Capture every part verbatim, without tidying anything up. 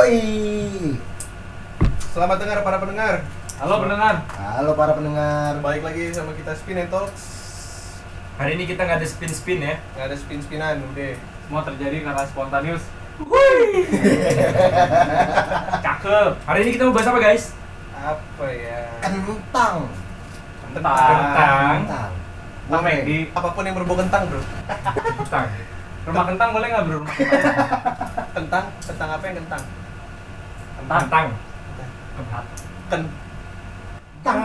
Yoi. Selamat dengar para pendengar. Halo pendengar. Halo para pendengar. Balik lagi sama kita Spin and Talks. Hari ini kita nggak ada spin-spin ya. Nggak ada spin-spinan, udah. Semua terjadi karena spontaneus. Wuih. Cakep. Hari ini kita mau bahas apa guys? Apa ya? Kentang. Kentang. Kentang. Mau Maggi. Apapun yang berbau kentang, bro. Kentang. Rumah kentang boleh nggak bro? Kentang, kentang apa yang kentang? Kentang. Kentang. Kentang. Kentang.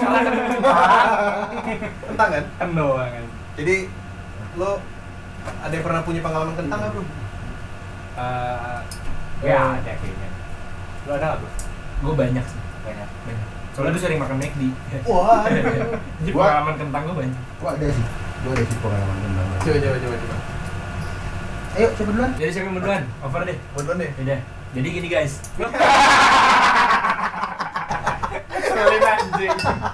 Kentang kan? Kendo kan. Jadi lo ada yang pernah punya pengalaman kentang nggak, bro? Uh, ya ada kayaknya. Lo ada nggak bro? Gue banyak sih, Banyak. banyak. Soalnya gue sering makan McD. Wah. Jadi Gua- pengalaman kentang gue banyak. Gua ada sih. Gua ada sih pengalaman kentang. Coba, coba, coba, coba. Ayo, coba duluan. Jadi siapa yang mau duluan? Over deh. Buat duluan deh. Yaudah. Jadi gini guys. Sekali anjing.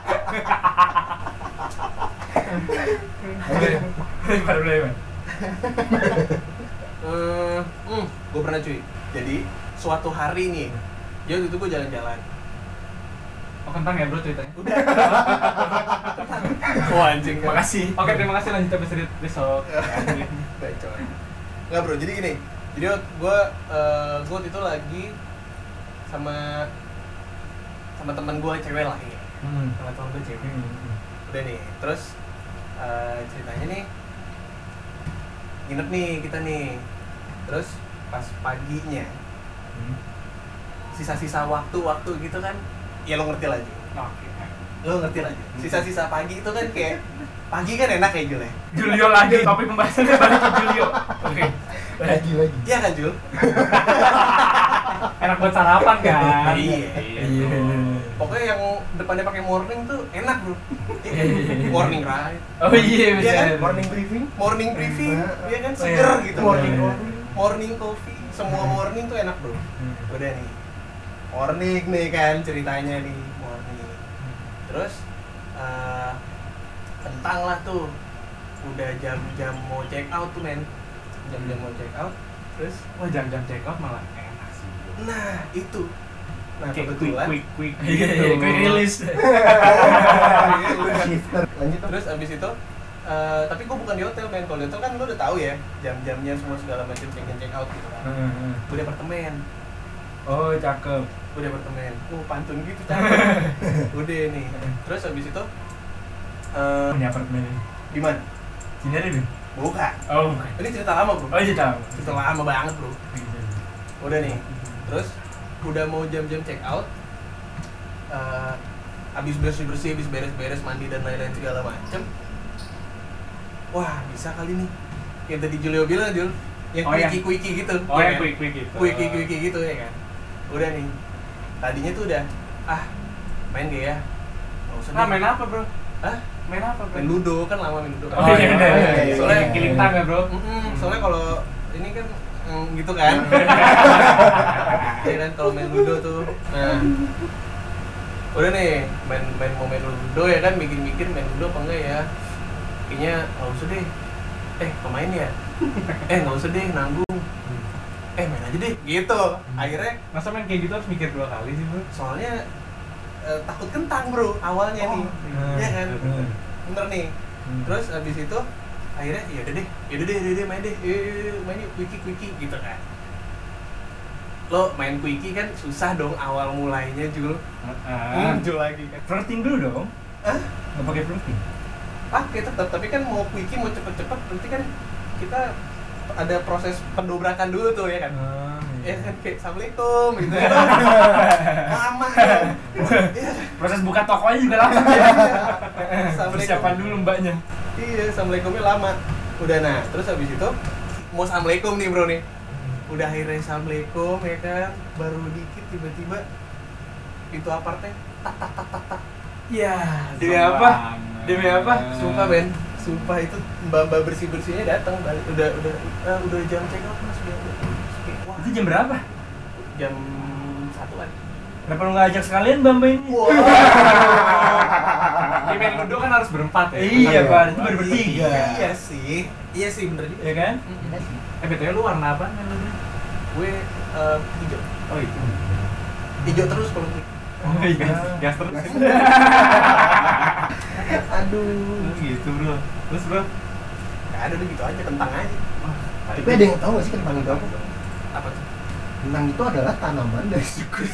Lebar lebar. Hmm, hmm, gue pernah cuy. Jadi suatu hari nih, jadi waktu itu gue jalan-jalan. Oh kentang ya bro ceritanya. Udah. Wah anjing. kan? Makasih. Oke terima kasih lanjut episode besok. Bacot. Nggak bro, jadi gini. Jadi gue, uh, gue waktu itu lagi sama sama teman gue cewek lah ya. Hmm. Sama teman gue cewek. Hmm. Udah nih, terus uh, ceritanya nih nginep nih kita nih. Terus pas paginya, Hmm. sisa-sisa waktu-waktu gitu kan, ya lo ngerti lah Ju. Oke. Lo ngerti lah Ju. Sisa-sisa pagi itu kan kayak pagi kan enak ya Jul ya. Julio lagi. Topik pembahasannya balik ke Julio. Oke. Lagi lagi. Iya kan Jul? Enak buat sarapan kan? Iya. Iya. Pokoknya yang depannya pakai morning tuh enak bro. Morning ride, Oh iya Iya kan? benar. Morning briefing. morning briefing, iya kan Oh, seger iya. gitu. Morning Iya. coffee. morning coffee, semua morning tuh enak bro. Hmm. Udah nih, morning nih kan ceritanya nih morning. Terus eh, kentang lah tuh, udah jam-jam mau check out tuh men, jam-jam mau check out. Terus, Wah jam-jam check out malah enak sih. nah itu, nah Kayak quick kebetulan. quick quick Iya, gitu. quick release. Shifter. Lanjut. Om. Terus abis itu, eh, tapi gue bukan di hotel men. Kalau di hotel kan lo udah tahu ya jam-jamnya semua segala macam check in check out gitu kan. Hmm. Gue di apartemen, Oh cakep. gue di apartemen. Oh pantun gitu cakep. Udah nih. Terus abis itu, eh, Ini apartemen ini. di mana? Sini ada deh. Bukan. Oh. Ini cerita lama bro. Oh iya tahu. Cerita lama banget bro. Udah nih. Terus udah mau jam-jam check out. eh, abis bersih-bersih, abis beres-beres, mandi dan lain-lain segala macem. Wah bisa kali nih. Yang tadi Julio bilang Jul, yang Oh, yang- quickie-quickie gitu. Oh ya yang kan? quick quick gitu. Quickie-quickie gitu ya kan. Udah nih. Tadinya tuh udah, ah main gak ya? Nggak usah Ah deh. main apa bro? Hah? Main apa bro? Main ludo kan lama main ludo. Oh iya bener. iya. Soalnya killing time ya bro. Mm-mm, soalnya kalau ini kan mm, gitu kan. Iya kan kalau main ludo tuh. Nah. Udah nih, main main mau main ludo ya kan, mikir-mikir main ludo apa enggak ya. Kayaknya enggak usah deh. Eh, pemain ya? Eh, enggak usah deh nanggung. Eh, main aja deh. Gitu. Akhirnya Masa main kayak gitu harus mikir dua kali sih bro? soalnya eh, takut kentang, Bro, awalnya nih. Hmm. Iya kan? Hmm. Bener nih. Hmm. Terus abis itu akhirnya ya udah deh, ya udah deh, ya udah deh, main deh, yuk, yuk, yuk, main yuk, quickie quickie gitu kan. Lo main quickie kan susah dong awal mulainya Jul. Ah. Muncul lagi kan. Flirting dulu dong. Hah? Nggak pakai flirting. Pakai tetap, tapi kan mau quickie mau cepet-cepet, berarti kan kita ada proses pendobrakan dulu tuh ya kan. Ah, Ya iya. kan kayak assalamualaikum gitu ya. Lama ya. Iya. Proses buka tokonya juga lama ya. Assalamualaikum. Persiapan dulu mbaknya. Iya, assalamualaikumnya lama. Udah nah, terus habis itu mau assalamualaikum nih bro nih. Udah akhirnya assalamualaikum ya kan, baru dikit tiba-tiba pintu apartnya tak tak tak tak tak. Ya, demi apa? Demi apa? Sumpah Ben, sumpah itu mbak-mbak bersih-bersihnya datang balik. Udah udah eh, udah jam check out Mas, udah. udah. Oke, wah, Itu jam berapa? jam satuan. Kenapa lu nggak ajak sekalian Bamba ini? Wah. Di main ludo kan harus berempat ya? Iya, Masa Pak. berempat? Itu baru bertiga. Iya sih. Iya sih bener juga. Ya kan? Eh B T W lu warna apa main ludo? Gue eh, hijau. Oh itu. Hijau terus kalau gue. Oh iya. Gas terus. Aduh. Gitu bro. Terus bro. Gak ada udah gitu aja, kentang aja. Tapi ada yang tahu nggak sih kentang itu apa? Apa tuh? Kentang itu adalah tanaman dari suku.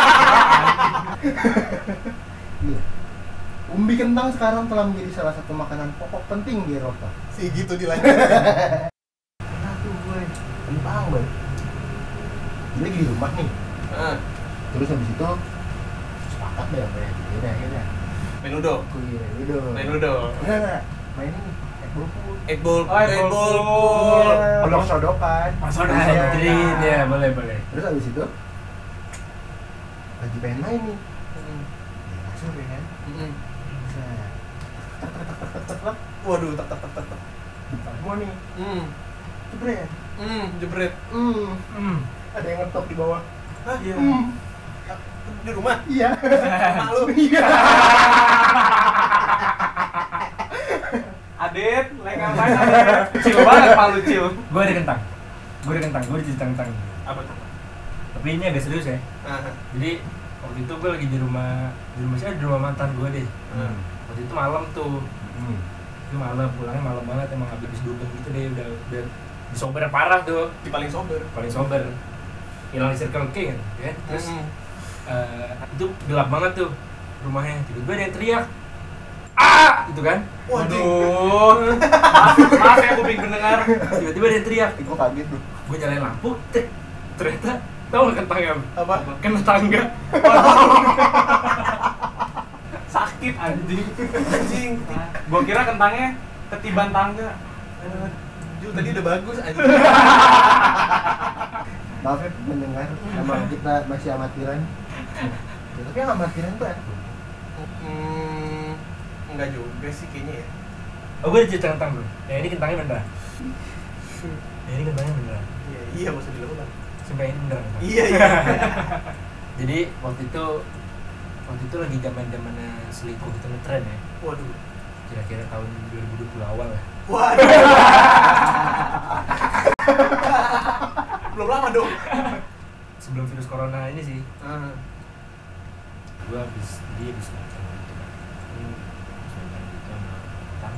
Iya. Umbi kentang sekarang telah menjadi salah satu makanan pokok penting di Eropa. Si gitu dilanjut. Aduh gue, kentang boy. Jadi lagi di rumah nih. Ah, Terus habis itu sepakat deh apa ya? Yaudah, yaudah. main Ludo. Gue Ludo. Main Ludo. Enggak, enggak. Main ini, egg ball pool. Eight ball, Oh, eight eight ball ball pool. Iya, pelok sodokan. Masuk Iya. doktrin ya, boleh boleh. Terus habis itu lagi pengen main nih. Hmm. Ya, masuk ya kan. Hmm. Set. Tek, tek, tek, tek, tek, tek. Waduh, tak tak tak tak tak. Buka semua nih. Hmm. Jebret. Hmm, jebret. Hmm. Hmm. Ada yang ngetok di bawah. Hah? Iya. Hmm. Di rumah? Iya. Malu. Iya. Adit, lagi ngapain Adit? Cil banget malu Cil. Gue ada kentang. Gue ada kentang. Gue ada cerita kentang. Apa tuh? Tapi ini agak serius ya. Ah, Jadi waktu itu gue lagi di rumah di rumah siapa? Di rumah mantan gue deh. Hmm. Waktu itu malam tuh. Hmm. Itu malam, pulangnya malam banget, emang habis dugem gitu deh, udah udah disober parah tuh, di paling sober. paling sober. Hilang di Circle K kan, ya. Terus Hmm. eh, itu gelap banget tuh rumahnya. Tiba-tiba ada yang teriak. Ah, gitu kan. Waduh. Maaf, maaf ya kuping pendengar. Tiba-tiba ada yang teriak. Gue kaget tuh. Gue nyalain lampu, tek. Ternyata tau gak kentangnya? Apa? Kena tangga. Sakit anjing. Anjing. Gua kira kentangnya ketiban tangga. Ju tadi udah bagus anjing. Maaf ya mendengar, emang kita masih amatiran. Ya, tapi yang amatiran tuh enak. Hmm. Enggak juga sih kayaknya ya. Oh, gue ada cerita kentang bro. Ya ini kentangnya beneran. Ya ini kentangnya beneran. Iya, iya maksud dilakukan. Sumpah ini beneran. kentang. Iya, iya. Jadi waktu itu waktu itu lagi zaman-zamannya selingkuh gitu ngetren ya. Waduh. Kira-kira tahun dua ribu dua puluh awal lah. Waduh. Belum lama dong. Sebelum virus corona ini sih. Ah. Gue habis dia habis nonton gitu kan. Hmm, habis nonton gitu sama kentang.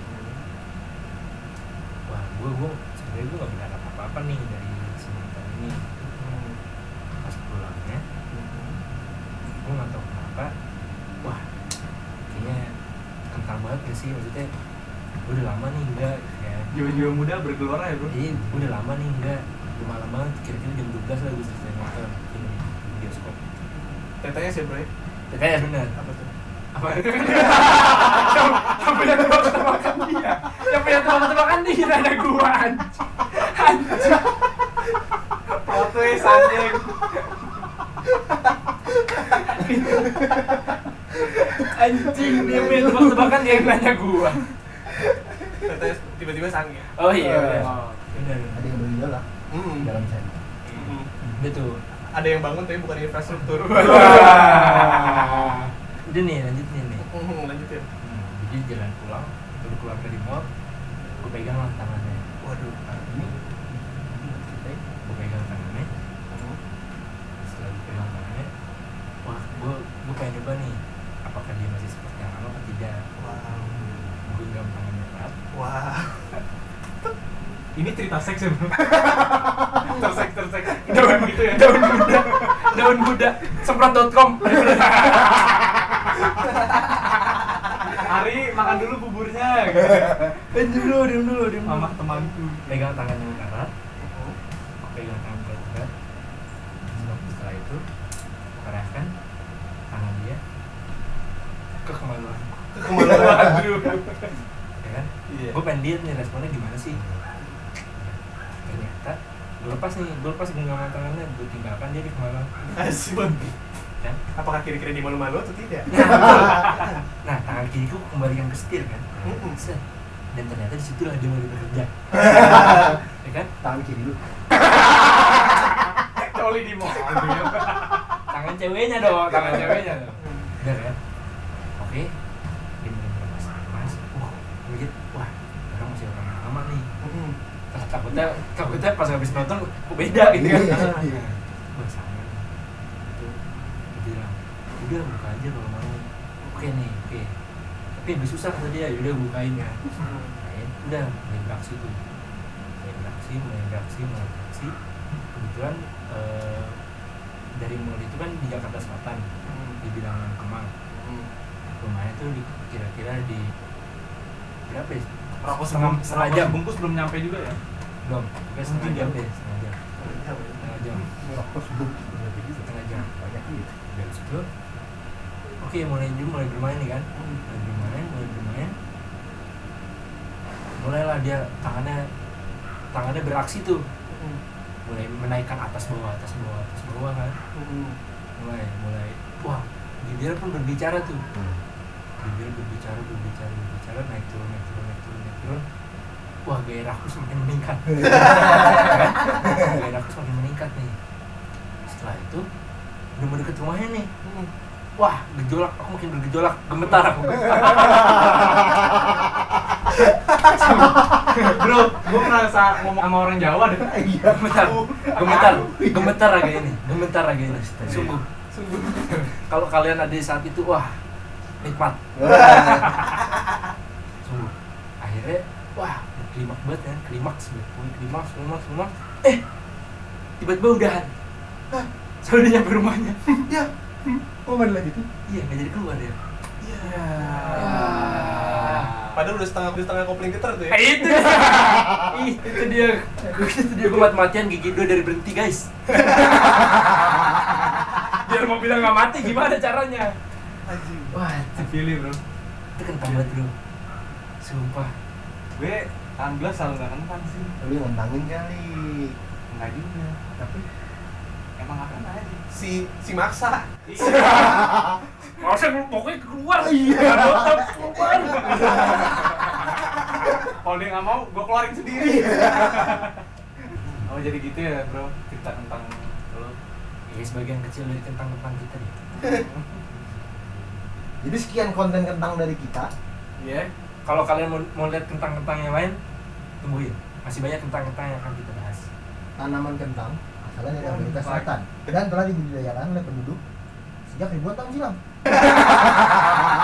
Wah, gue gue sebenarnya gue nggak berharap apa-apa nih dari si mantan ini. Pas pulangnya, gue nggak tahu kenapa. Wah, kayaknya kentang banget gak sih, maksudnya gue udah lama nih enggak ya. Jiwa-jiwa muda bergelora ya bro. Iya, gue udah lama nih enggak. Udah malam banget, kira-kira jam dua belas lah gue selesai nonton ini di bioskop. Tetanya sih, Bro. Kayaknya bener. Apa tuh? Apa? Yang punya tebak-tebakan dia. Yang punya tebak-tebakan dia ada gua anjing. Anjing. Plot twist anjing. Anjing, dia punya tebak-tebakan dia yang nanya gua. Tetanya tiba-tiba sange. Oh iya, bener. Oh. Bener. Ada yang meninggal lah Hmm. dalam sana. Hmm. Udah tuh. Ada yang bangun tapi bukan infrastruktur. Wah. Udah nih, lanjutin nih. Hmm, lanjutin. Hmm, jadi jalan pulang, baru keluar dari mall, gue pegang lah tangannya. Waduh. Nah, ini, gue pegang tangannya. Setelah gue pegang tangannya, wah, gue gue pengen coba nih, apakah dia masih seperti yang lama atau tidak. Wow. Gue genggam tangannya erat. Wah. Ini cerita seks ya bro. Terseks terseks. Daun gitu ya. Daun muda, daun muda, semprot dot com. Ari makan dulu buburnya. Gitu. Eh, diam dulu, diam dulu, diam dulu. Mama temanku. Pegang tangannya erat, pegang tangan gue erat. Setelah itu, kerahkan tangan dia ke kemaluan. Kemaluan. Aduh. Ya kan? Iya. Gue pengen lihat nih responnya gimana sih. Ternyata gue lepas nih, gue lepas genggaman tangannya, gue tinggalkan dia di kemaluan. Asik. Kan? Apakah kira-kira dia malu-malu atau tidak? Nah, tangan kiriku kembalikan ke setir kan. Mm-mm. Set. Dan ternyata disitulah dia mulai bekerja. Ya kan? Tangan kiri lu. Coli di mall. Tangan ceweknya dong, tangan ceweknya dong. Bener kan? Oke. Dia mulai berlepas lepas. Wah, gue lihat, wah, orang masih orang lama nih. Hmm. Kata gue takutnya takutnya pas habis nonton kok beda gitu kan. Iya. Wah sayang itu dia bilang udah buka aja kalau mau. Oke nih oke tapi lebih susah kata dia, udah bukain ya. Bukain udah mulai beraksi tuh mulai beraksi mulai beraksi mulai beraksi kebetulan eh, dari mall itu kan di Jakarta Selatan di bilangan Kemang. Rumahnya tuh di, kira-kira di berapa ya? Rokok setengah sebelum setengah rokok jam bungkus belum nyampe juga ya? belum mungkin setengah jam deh setengah jam setengah jam Rokok sebelum. setengah jam Banyak gitu. dari situ oke mulai dulu mulai bermain nih kan mulai bermain mulai bermain mulailah dia tangannya tangannya beraksi tuh mulai menaikkan atas bawah atas bawah atas bawah kan mulai mulai wah bibir pun berbicara tuh bibir berbicara berbicara berbicara naik turun naik turun naik turun naik turun wah gairahku semakin meningkat gairahku semakin meningkat nih setelah itu udah mau deket rumahnya nih wah gejolak aku makin bergejolak gemetar aku Bro, gue merasa ngomong sama orang Jawa deh. Iya. gemetar gemetar gemetar raga ini gemetar raga ini sungguh Sungguh. kalau kalian ada di saat itu wah nikmat sungguh akhirnya wah klimaks banget kan klimaks banget klimaks klimaks klimaks eh tiba-tiba udahan hah sampai dia nyampe rumahnya Ya. Kok nggak dilanjutin? iya nggak jadi keluar dia Ya. Padahal udah setengah udah setengah kopling getar tuh ya. eh, itu dia Ih, itu dia itu dia gue mati-matian gigi dua dari berhenti guys biar mau bilang nggak mati gimana caranya Anjing. wah itu, Pilih bro. itu kentang banget bro sumpah Gue alhamdulillah selalu nggak kentang sih. Lu ngentangin kali. Enggak juga. Tapi Emang apa aja? Si si maksa. nggak usah pokoknya keluar Iya. Nggak keluar Kalau dia nggak mau, gue keluarin sendiri. Oh jadi gitu ya bro, cerita tentang lo. ya sebagian kecil dari kentang-kentang kita nih jadi sekian konten kentang dari kita. Iya. kalau kalian mau, mau lihat kentang-kentang yang lain tungguin masih banyak kentang-kentang yang akan kita bahas Tanaman kentang asalnya dari Amerika Selatan dan telah dibudidayakan oleh penduduk sejak ribuan tahun silam.